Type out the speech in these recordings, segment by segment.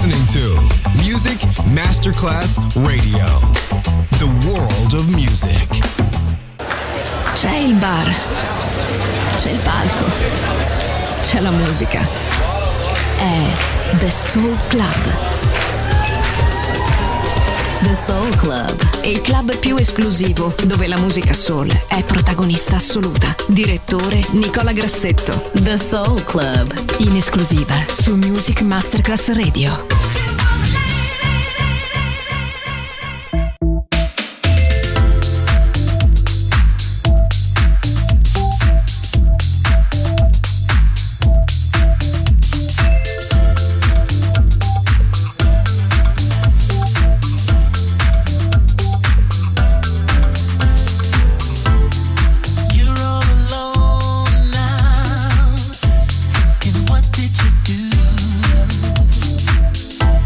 listening to Music Masterclass Radio. The world of music. C'è il bar, c'è il palco, c'è la musica. È The Soul Club. The Soul Club, il club più esclusivo dove la musica soul è protagonista assoluta. Direttore Nicola Grassetto. The Soul Club, in esclusiva su Music Masterclass Radio. What did you do?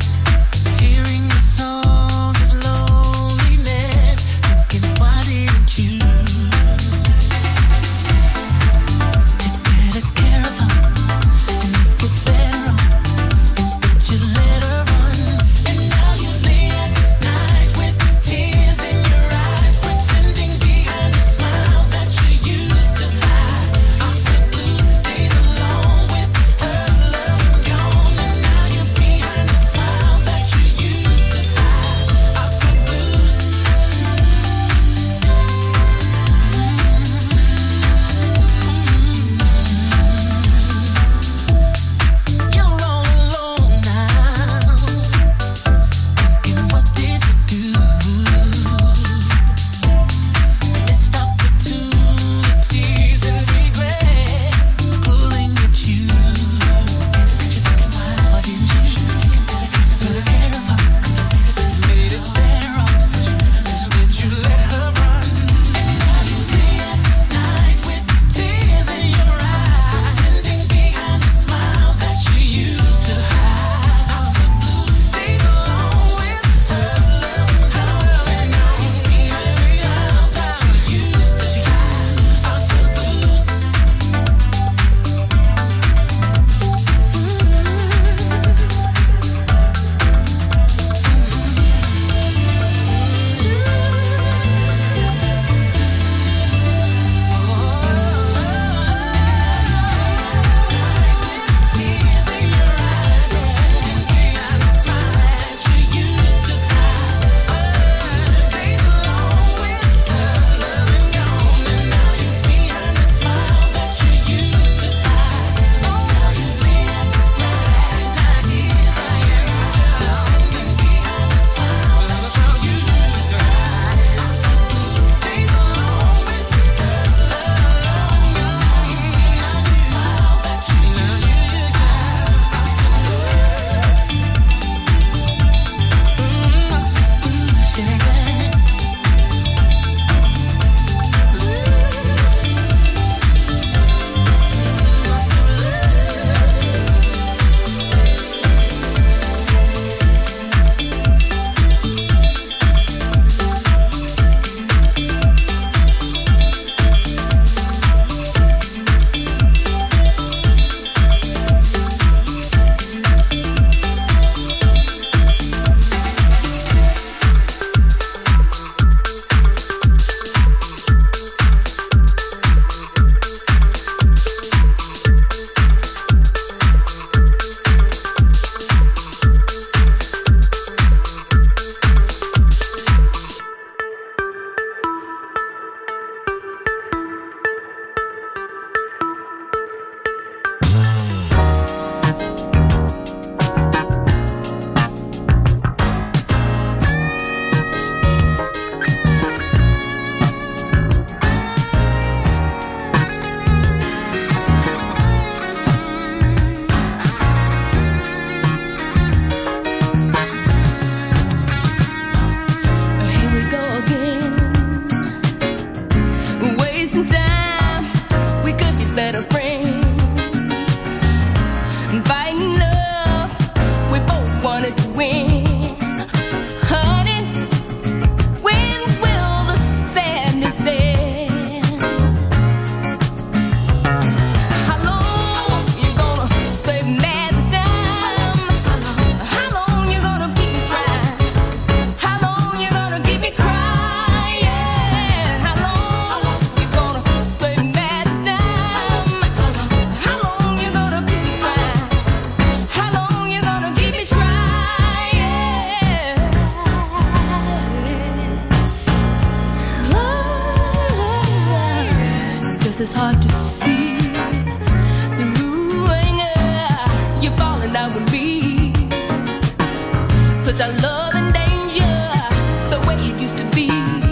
falling down with me. Puts our love in danger, the way it used to be.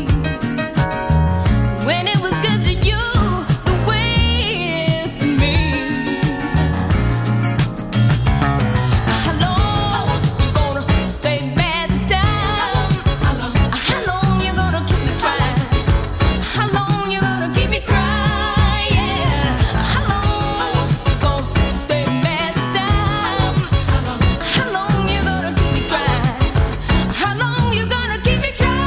When it was good to you, the way it is to me. How long you gonna stay mad this time? How long you gonna keep me trying? How long you gonna keep me crying? How long you gonna stay mad this time? How long you gonna keep me crying? How long you gonna keep me trying?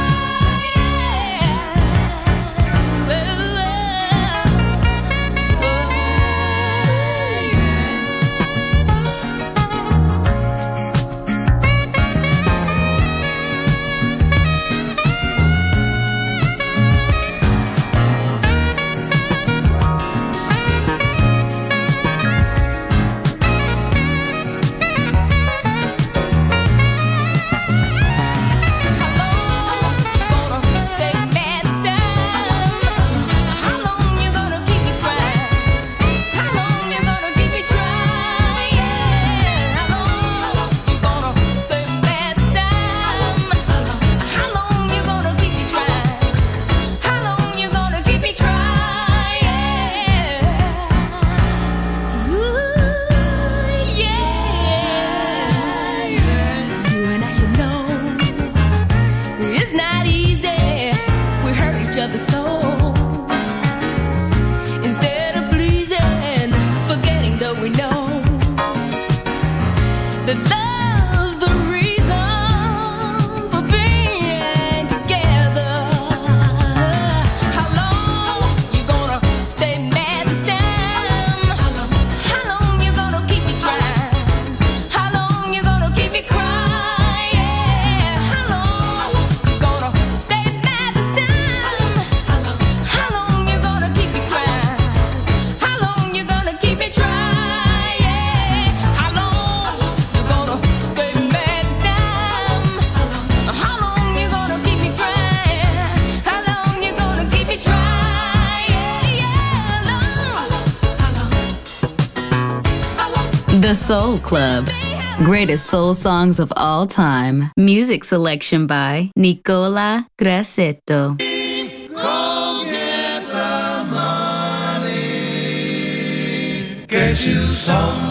The Soul Club. Greatest soul songs of all time. Music selection by Nicola Grassetto. Go get the money. Get you some.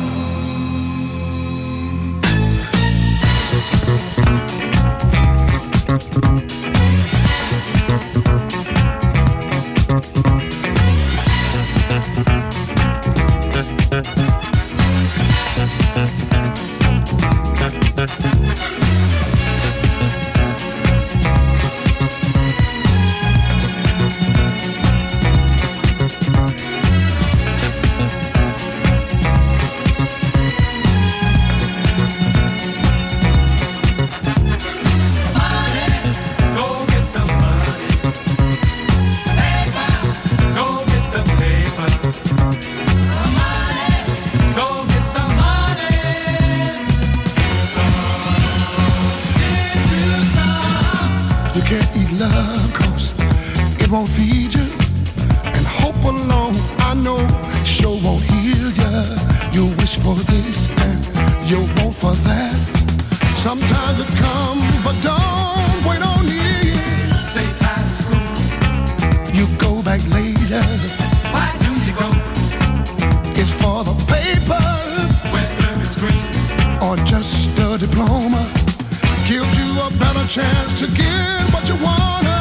Won't feed you, and hope alone I know sure won't heal you. You wish for this and you want for that. Sometimes it comes, but don't wait on it. Say time school. You go back later. Why do you go? It's for the paper, whether it's green or just a diploma. Gives you a better chance to get what you want.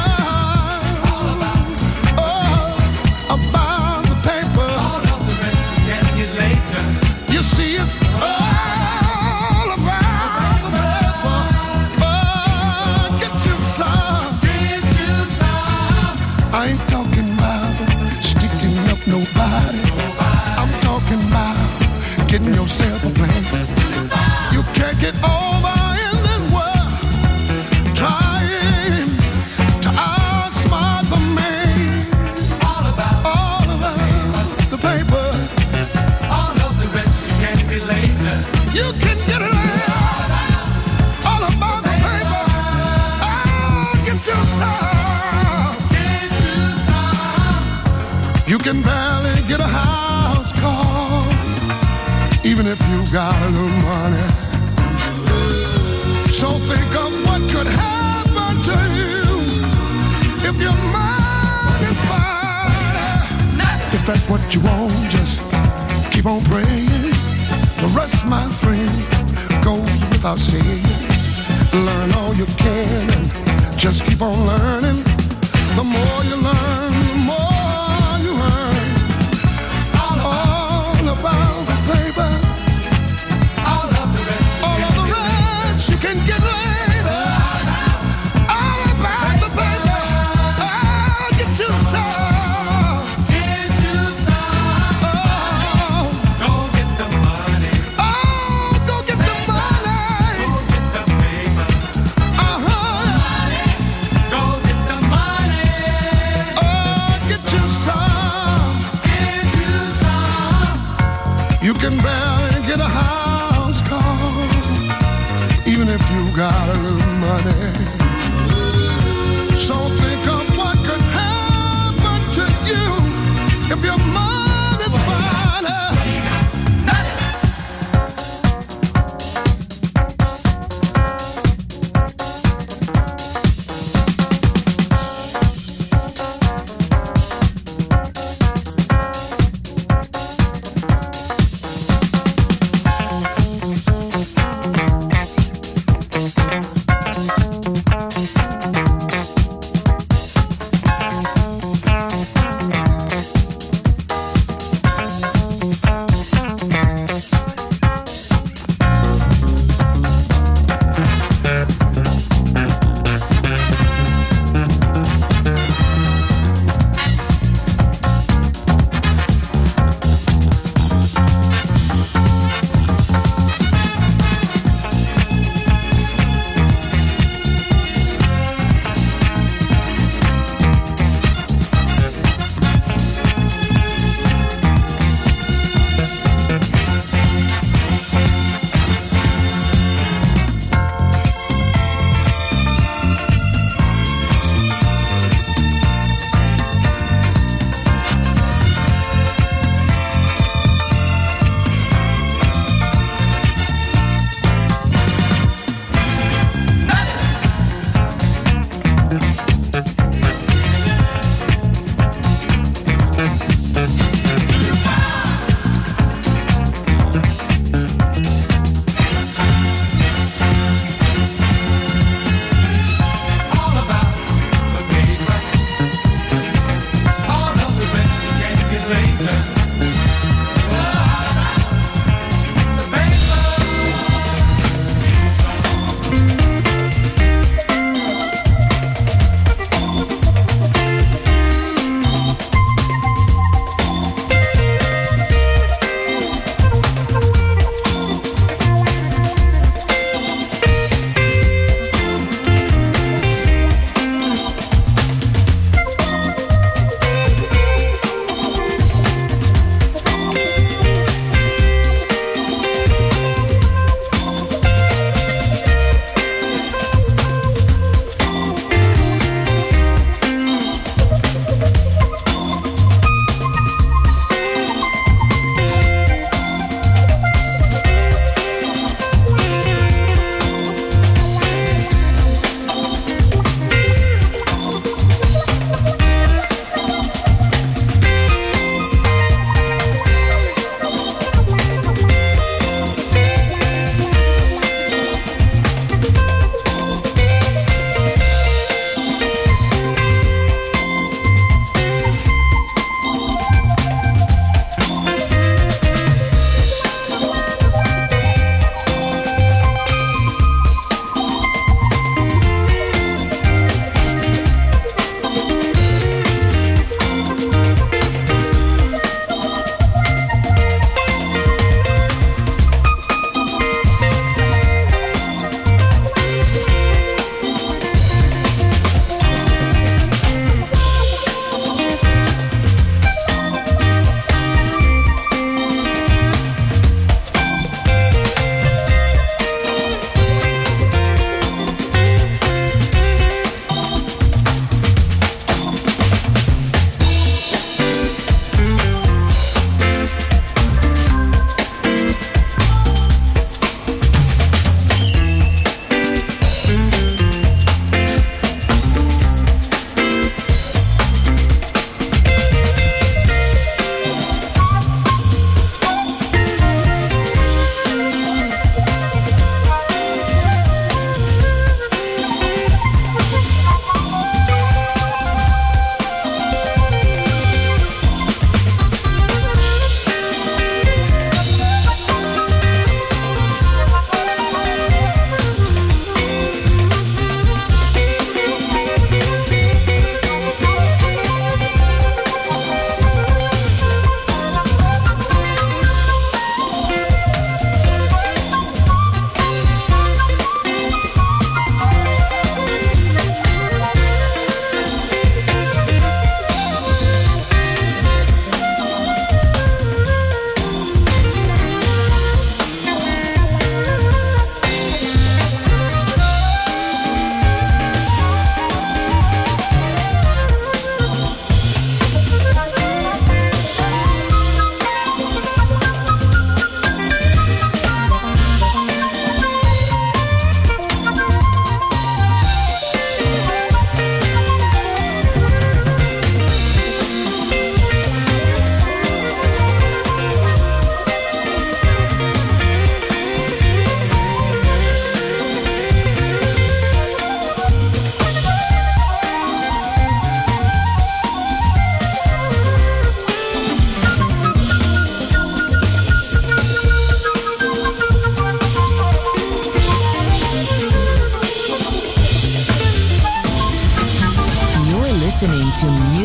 Getting yourself a plan. You can't get over in this world trying to outsmart the man. All about the paper. All of the rest you can't get later. You can get it all about the paper. Oh, get yourself. You can barely get a house call, even if you little money. So think of what could happen to you if your mind is fine. If that's what you want, just keep on praying. The rest, my friend, goes without saying. Learn all you can and just keep on learning. The more you learn, the more you earn. All about the paper. All of the rest you can get later. All about the paper. Oh, get you some. Get you some. Oh, Go get the money. oh, go get the money. Go get the paper. Uh-huh. Go get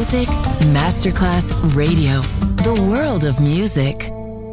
Music Masterclass Radio. The world of music.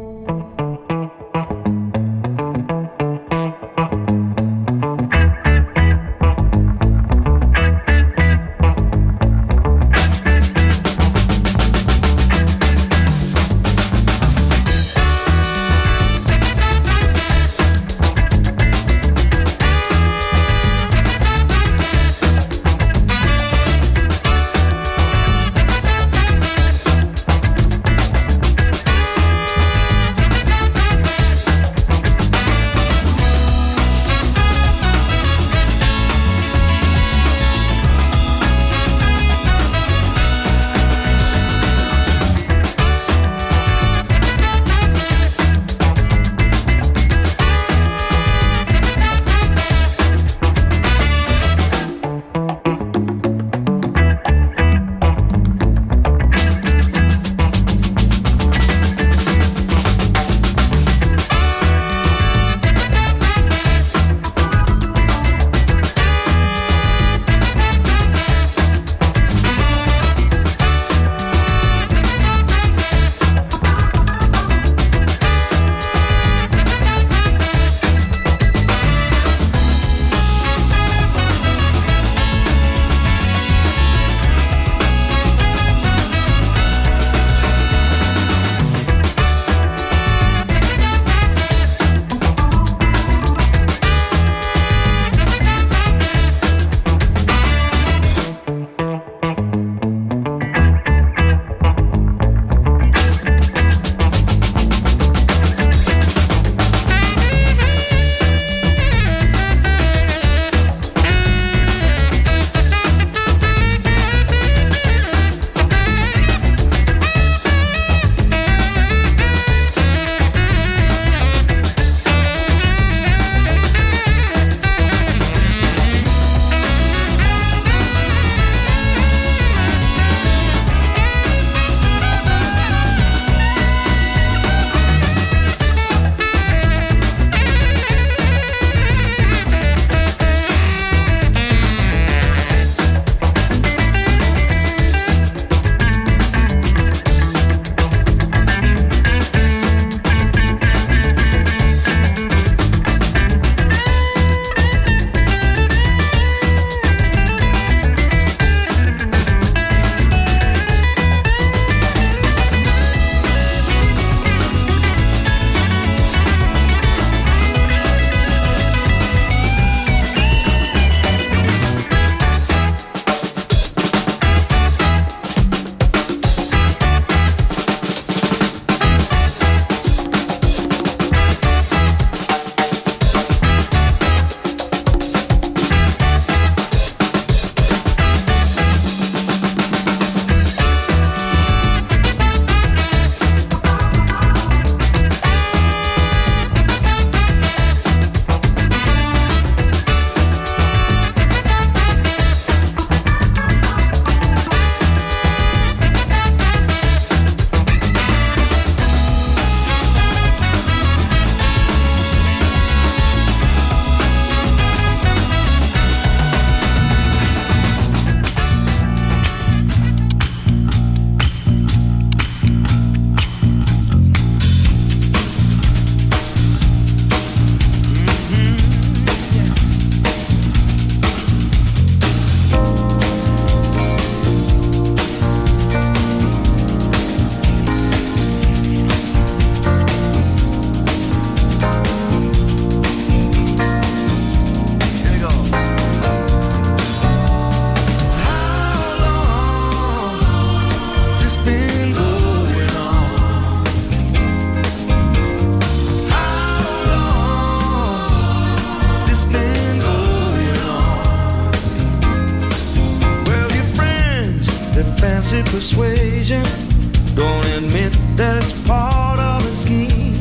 fancy persuasion. Don't admit that it's part of a scheme.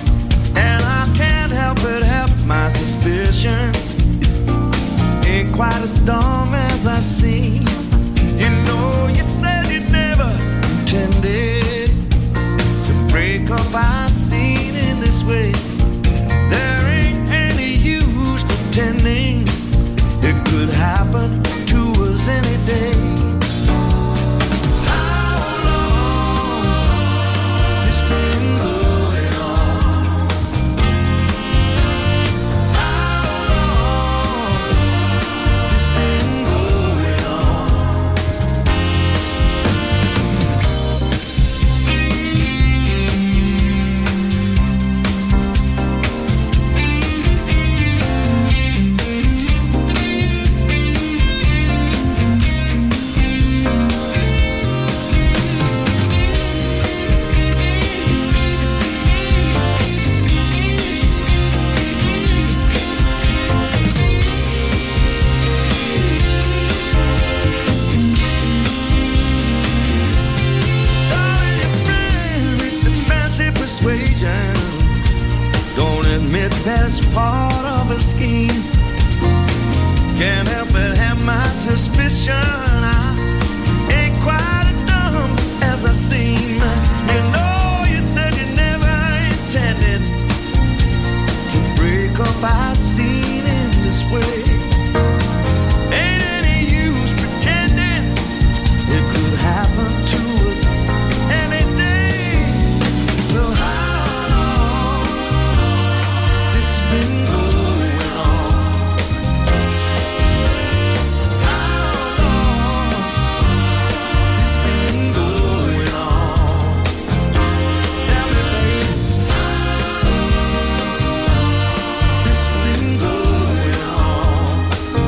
And I can't help but have my suspicion. Ain't quite as dumb as I seem. You know, you said you never intended to break up our scene in this way. There ain't any use pretending it could happen to us any day. that it's part of a scheme. Can't help but have my suspicion. I ain't quite as dumb as I seem. You know, you said you never intended to break up our scene in this way. Ain't any use pretending it could happen to us any day. So how long has this been going on? How long has this been going on? Tell me, baby, how long has this been going on?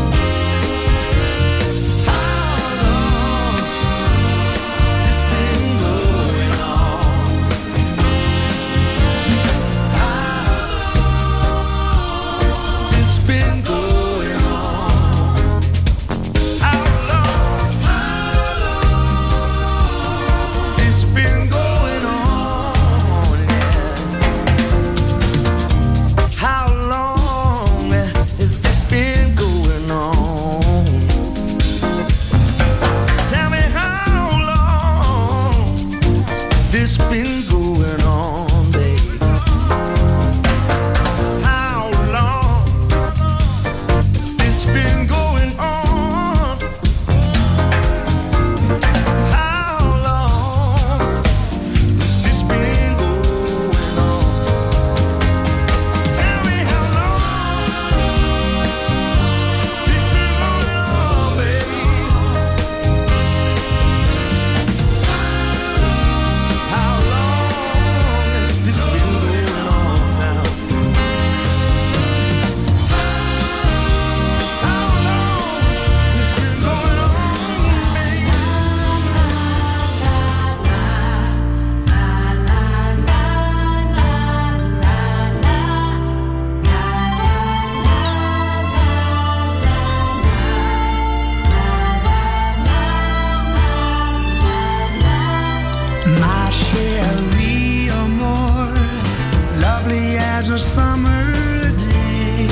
How long has this been going on? It's been going on. How long? It's been going on. How long has this been going on? Tell me how long has this been going on, babe? How long has this been going on? How long has this been going on? Tell me how long it's been going on, baby. How long has this been going on now? How long it's been going on, baby? My chérie amor, lovely as a summer day.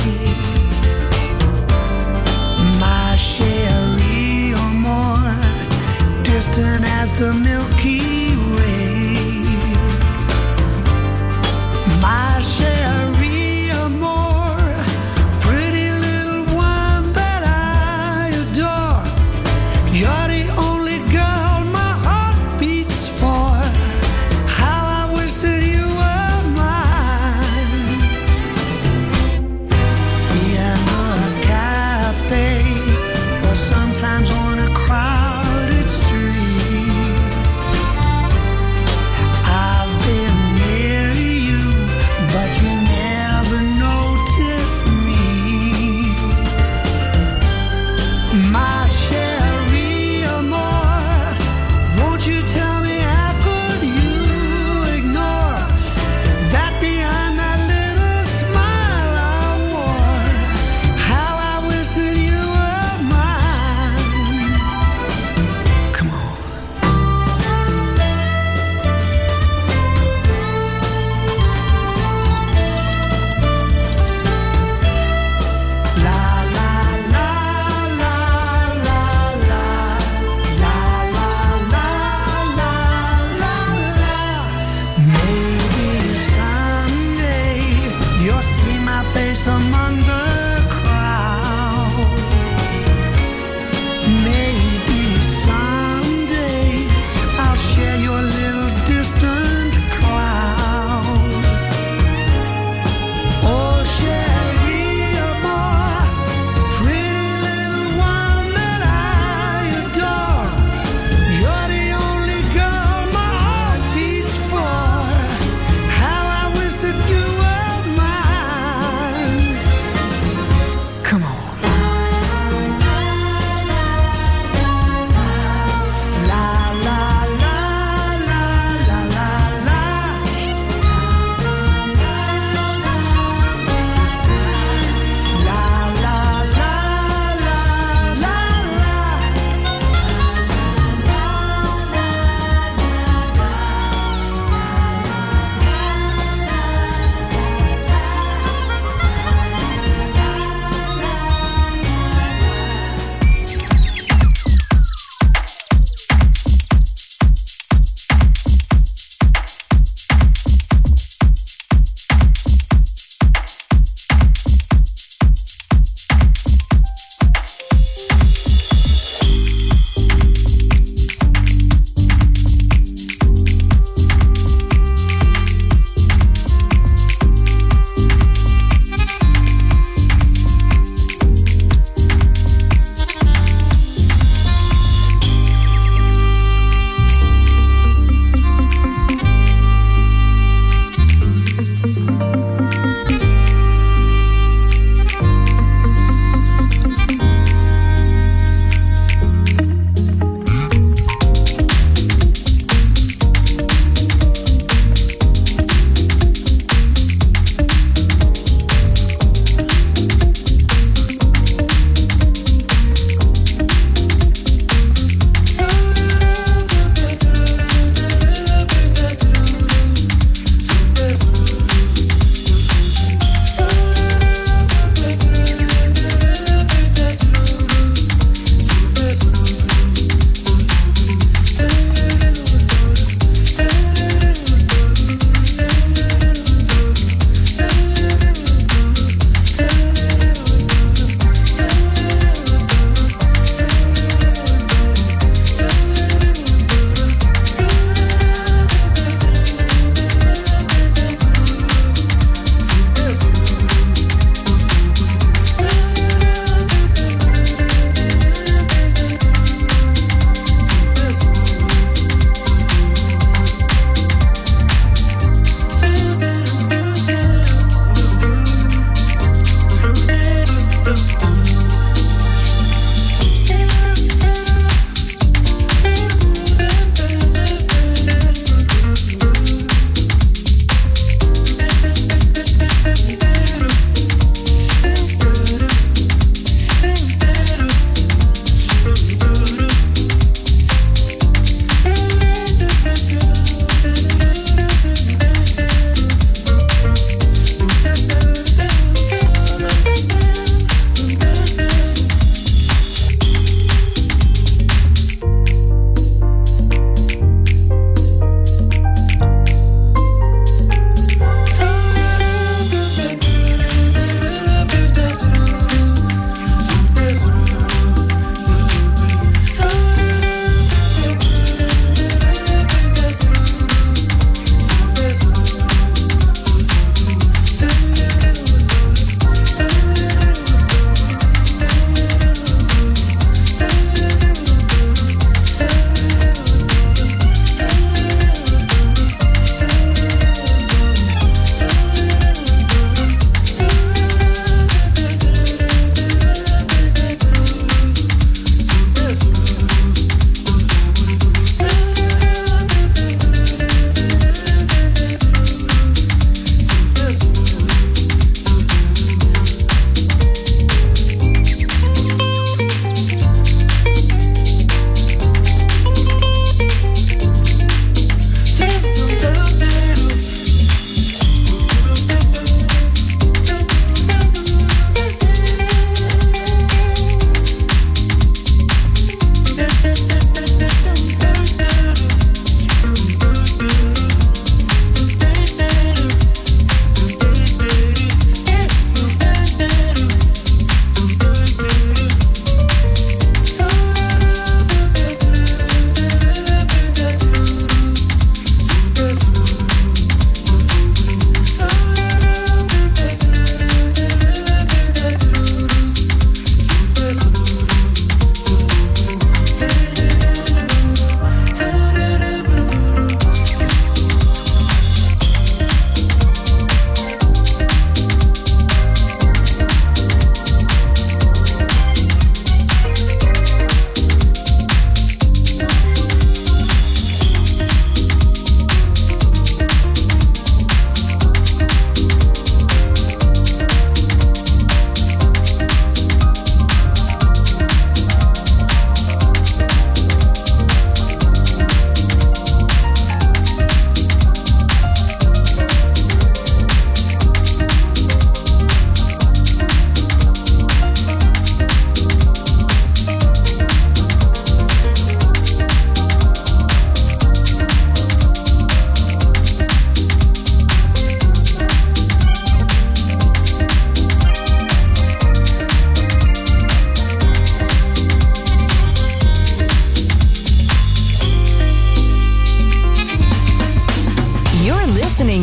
My chérie amor, distant as the Milky Way. My chérie amor, pretty little one that I adore. You're the only girl my heart beats for. How I wish that you were mine. In a cafe, or sometimes on a crowded street. I've been near you, but you never noticed me. My chérie amor, won't you tell me how could you ignore that behind that little smile I wore? How I wish that you were mine. Come on. La la la la la la la la la la. Maybe someday you'll see my face among the crowd. Maybe someday I'll share your little distant cloud. Oh, chérie amor, pretty little one that I adore. You're the only girl my heart beats for. How I wish that you were mine.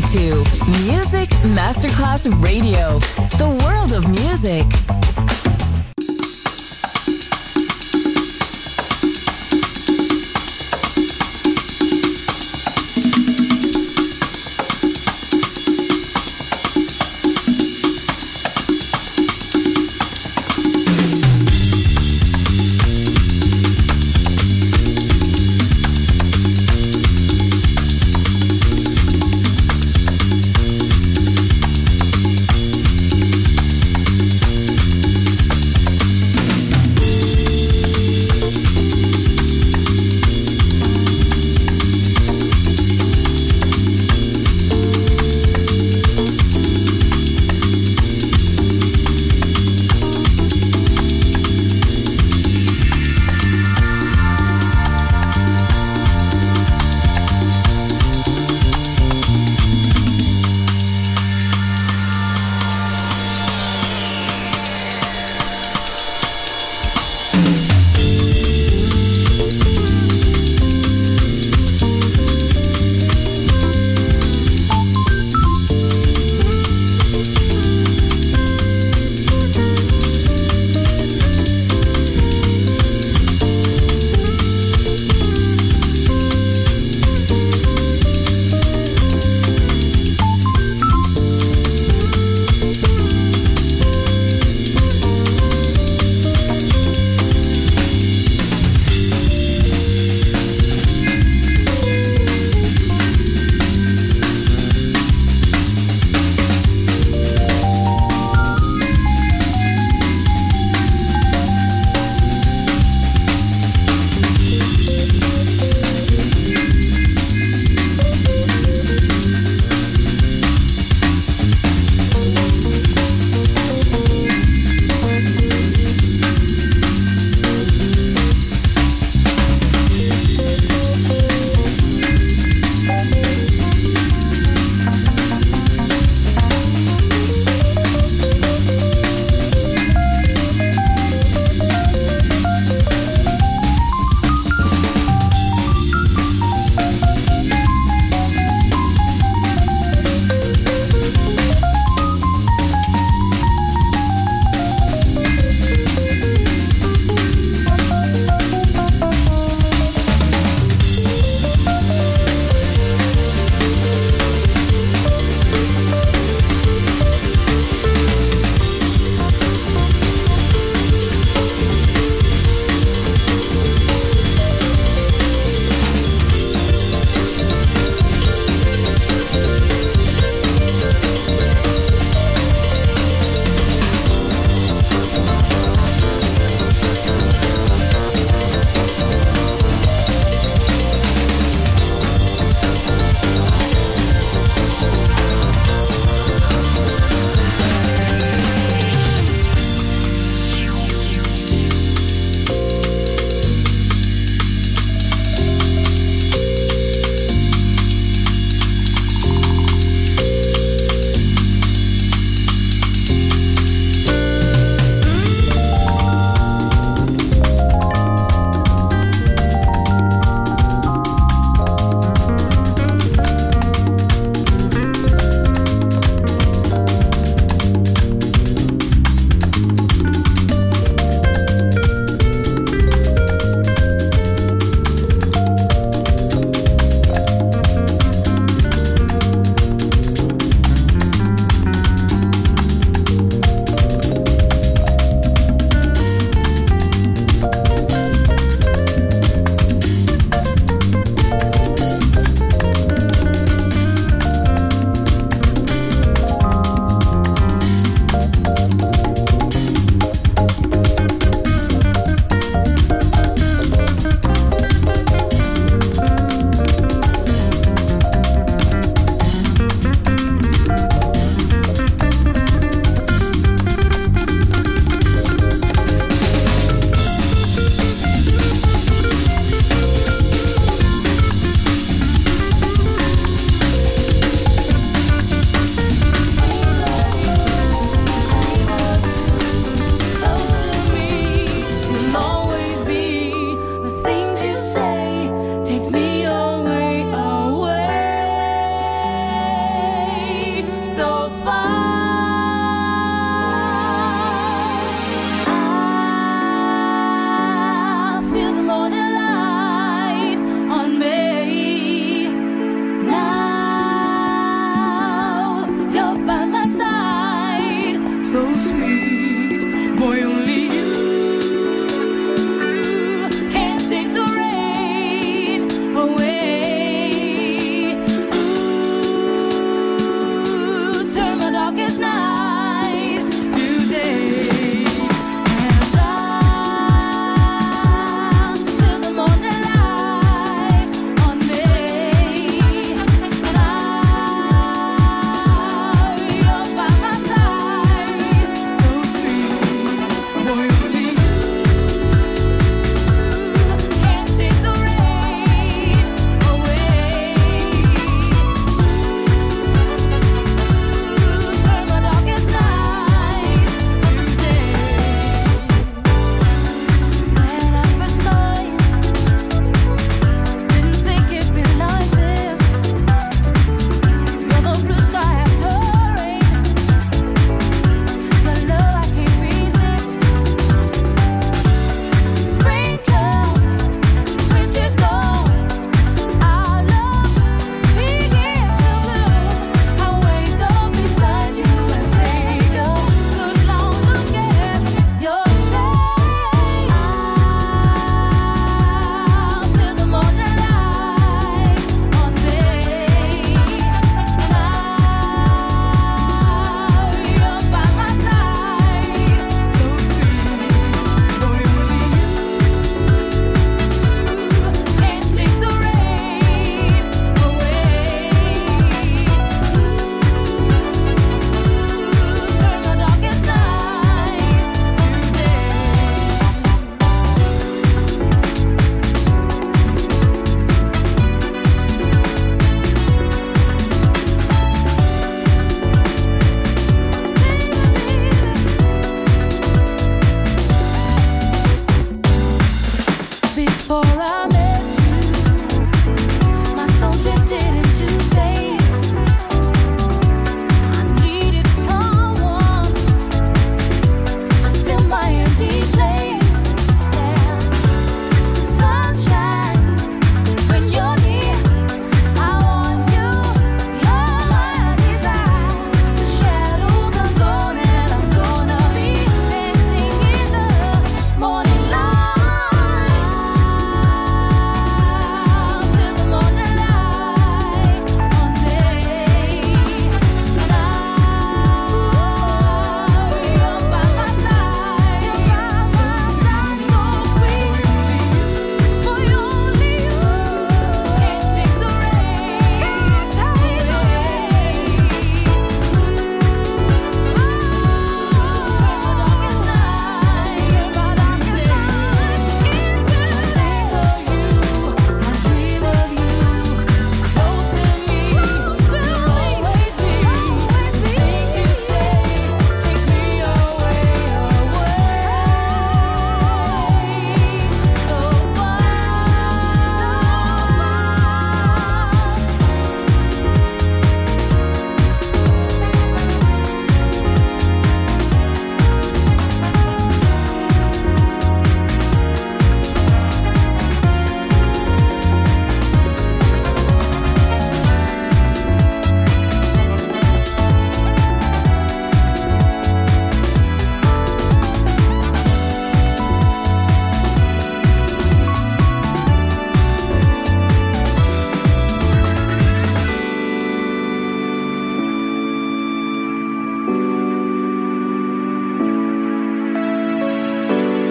to Music Masterclass Radio, the world of music.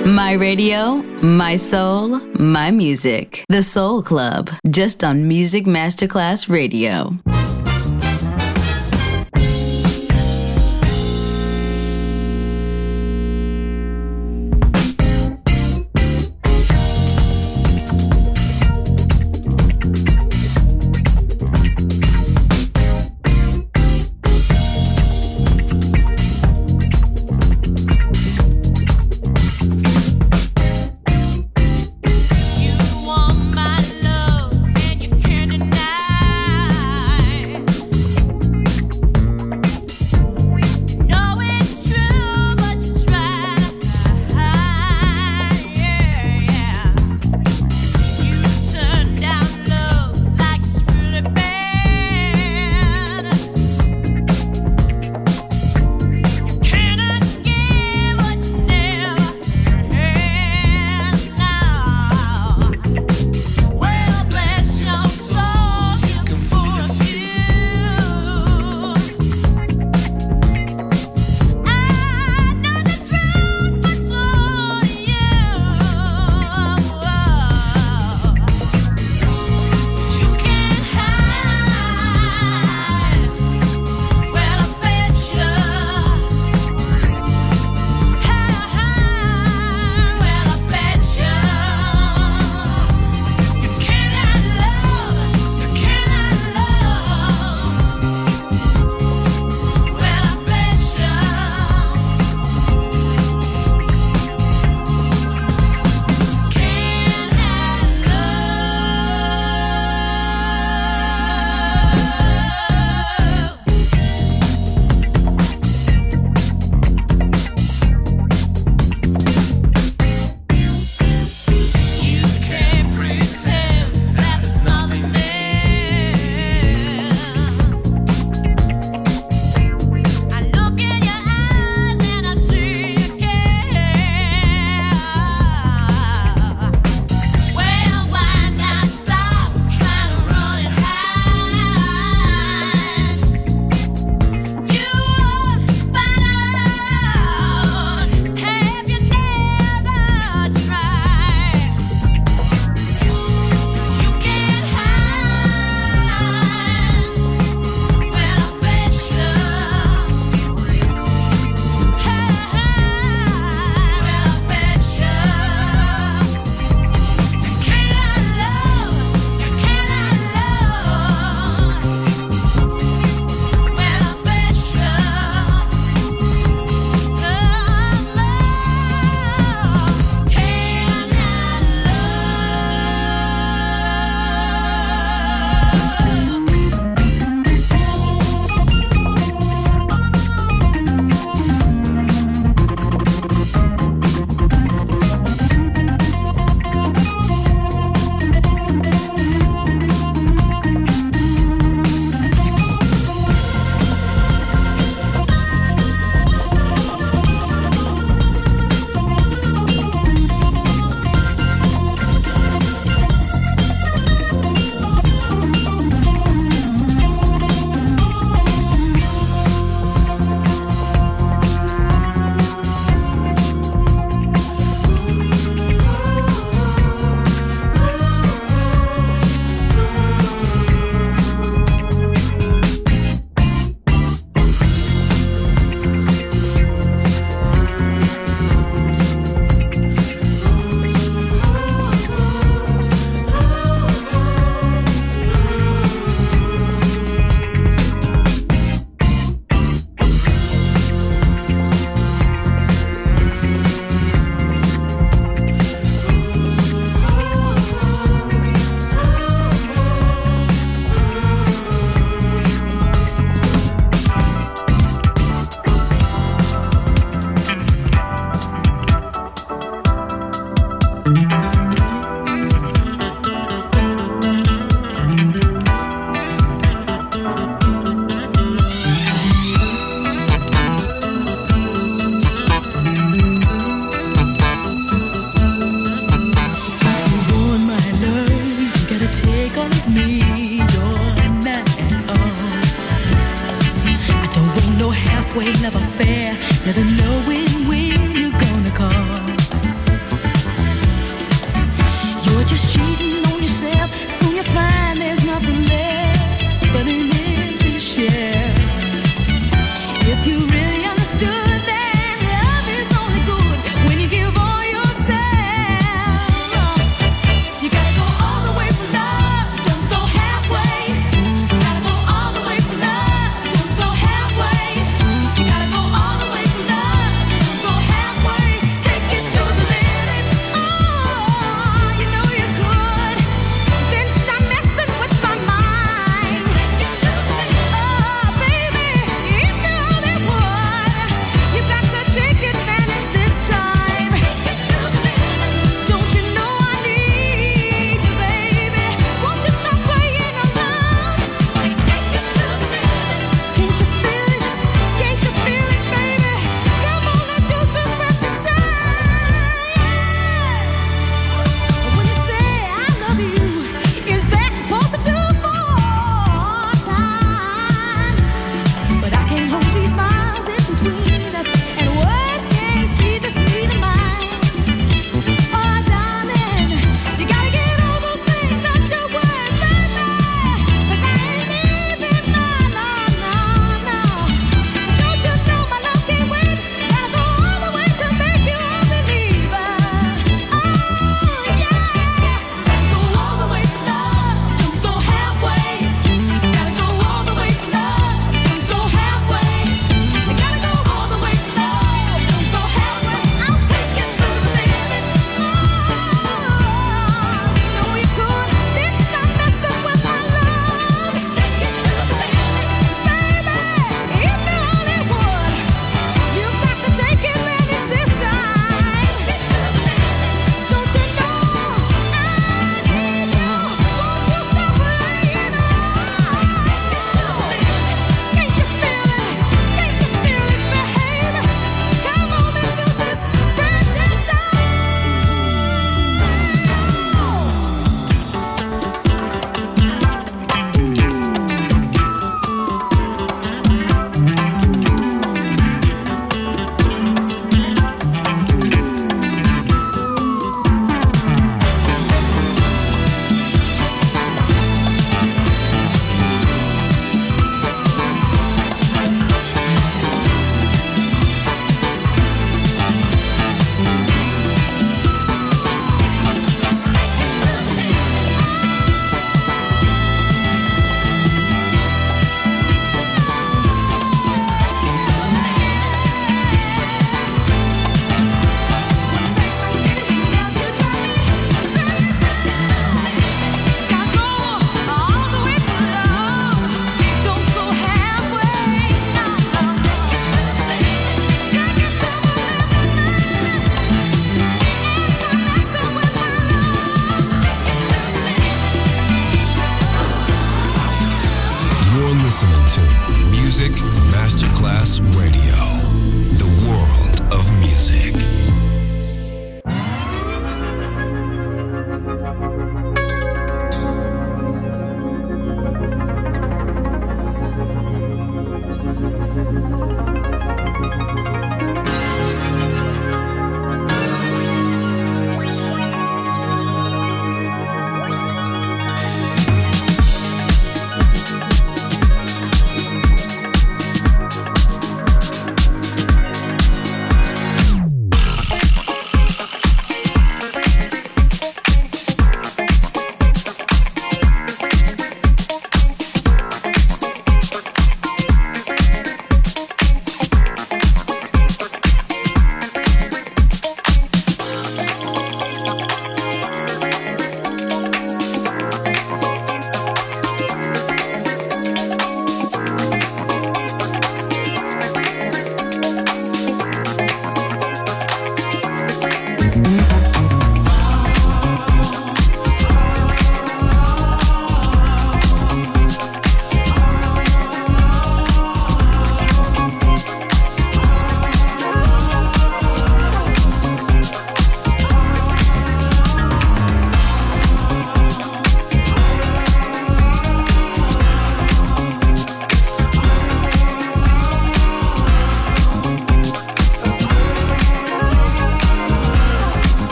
My radio, my soul, my music. The Soul Club, just on Music Masterclass Radio. You want my love and you can't deny.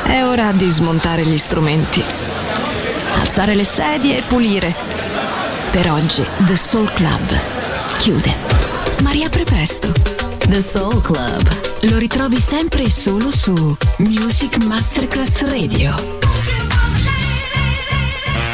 È ora di smontare gli strumenti, alzare le sedie e pulire. Per oggi The Soul Club chiude, ma riapre presto. The Soul Club. Lo ritrovi sempre e solo su Music Masterclass Radio.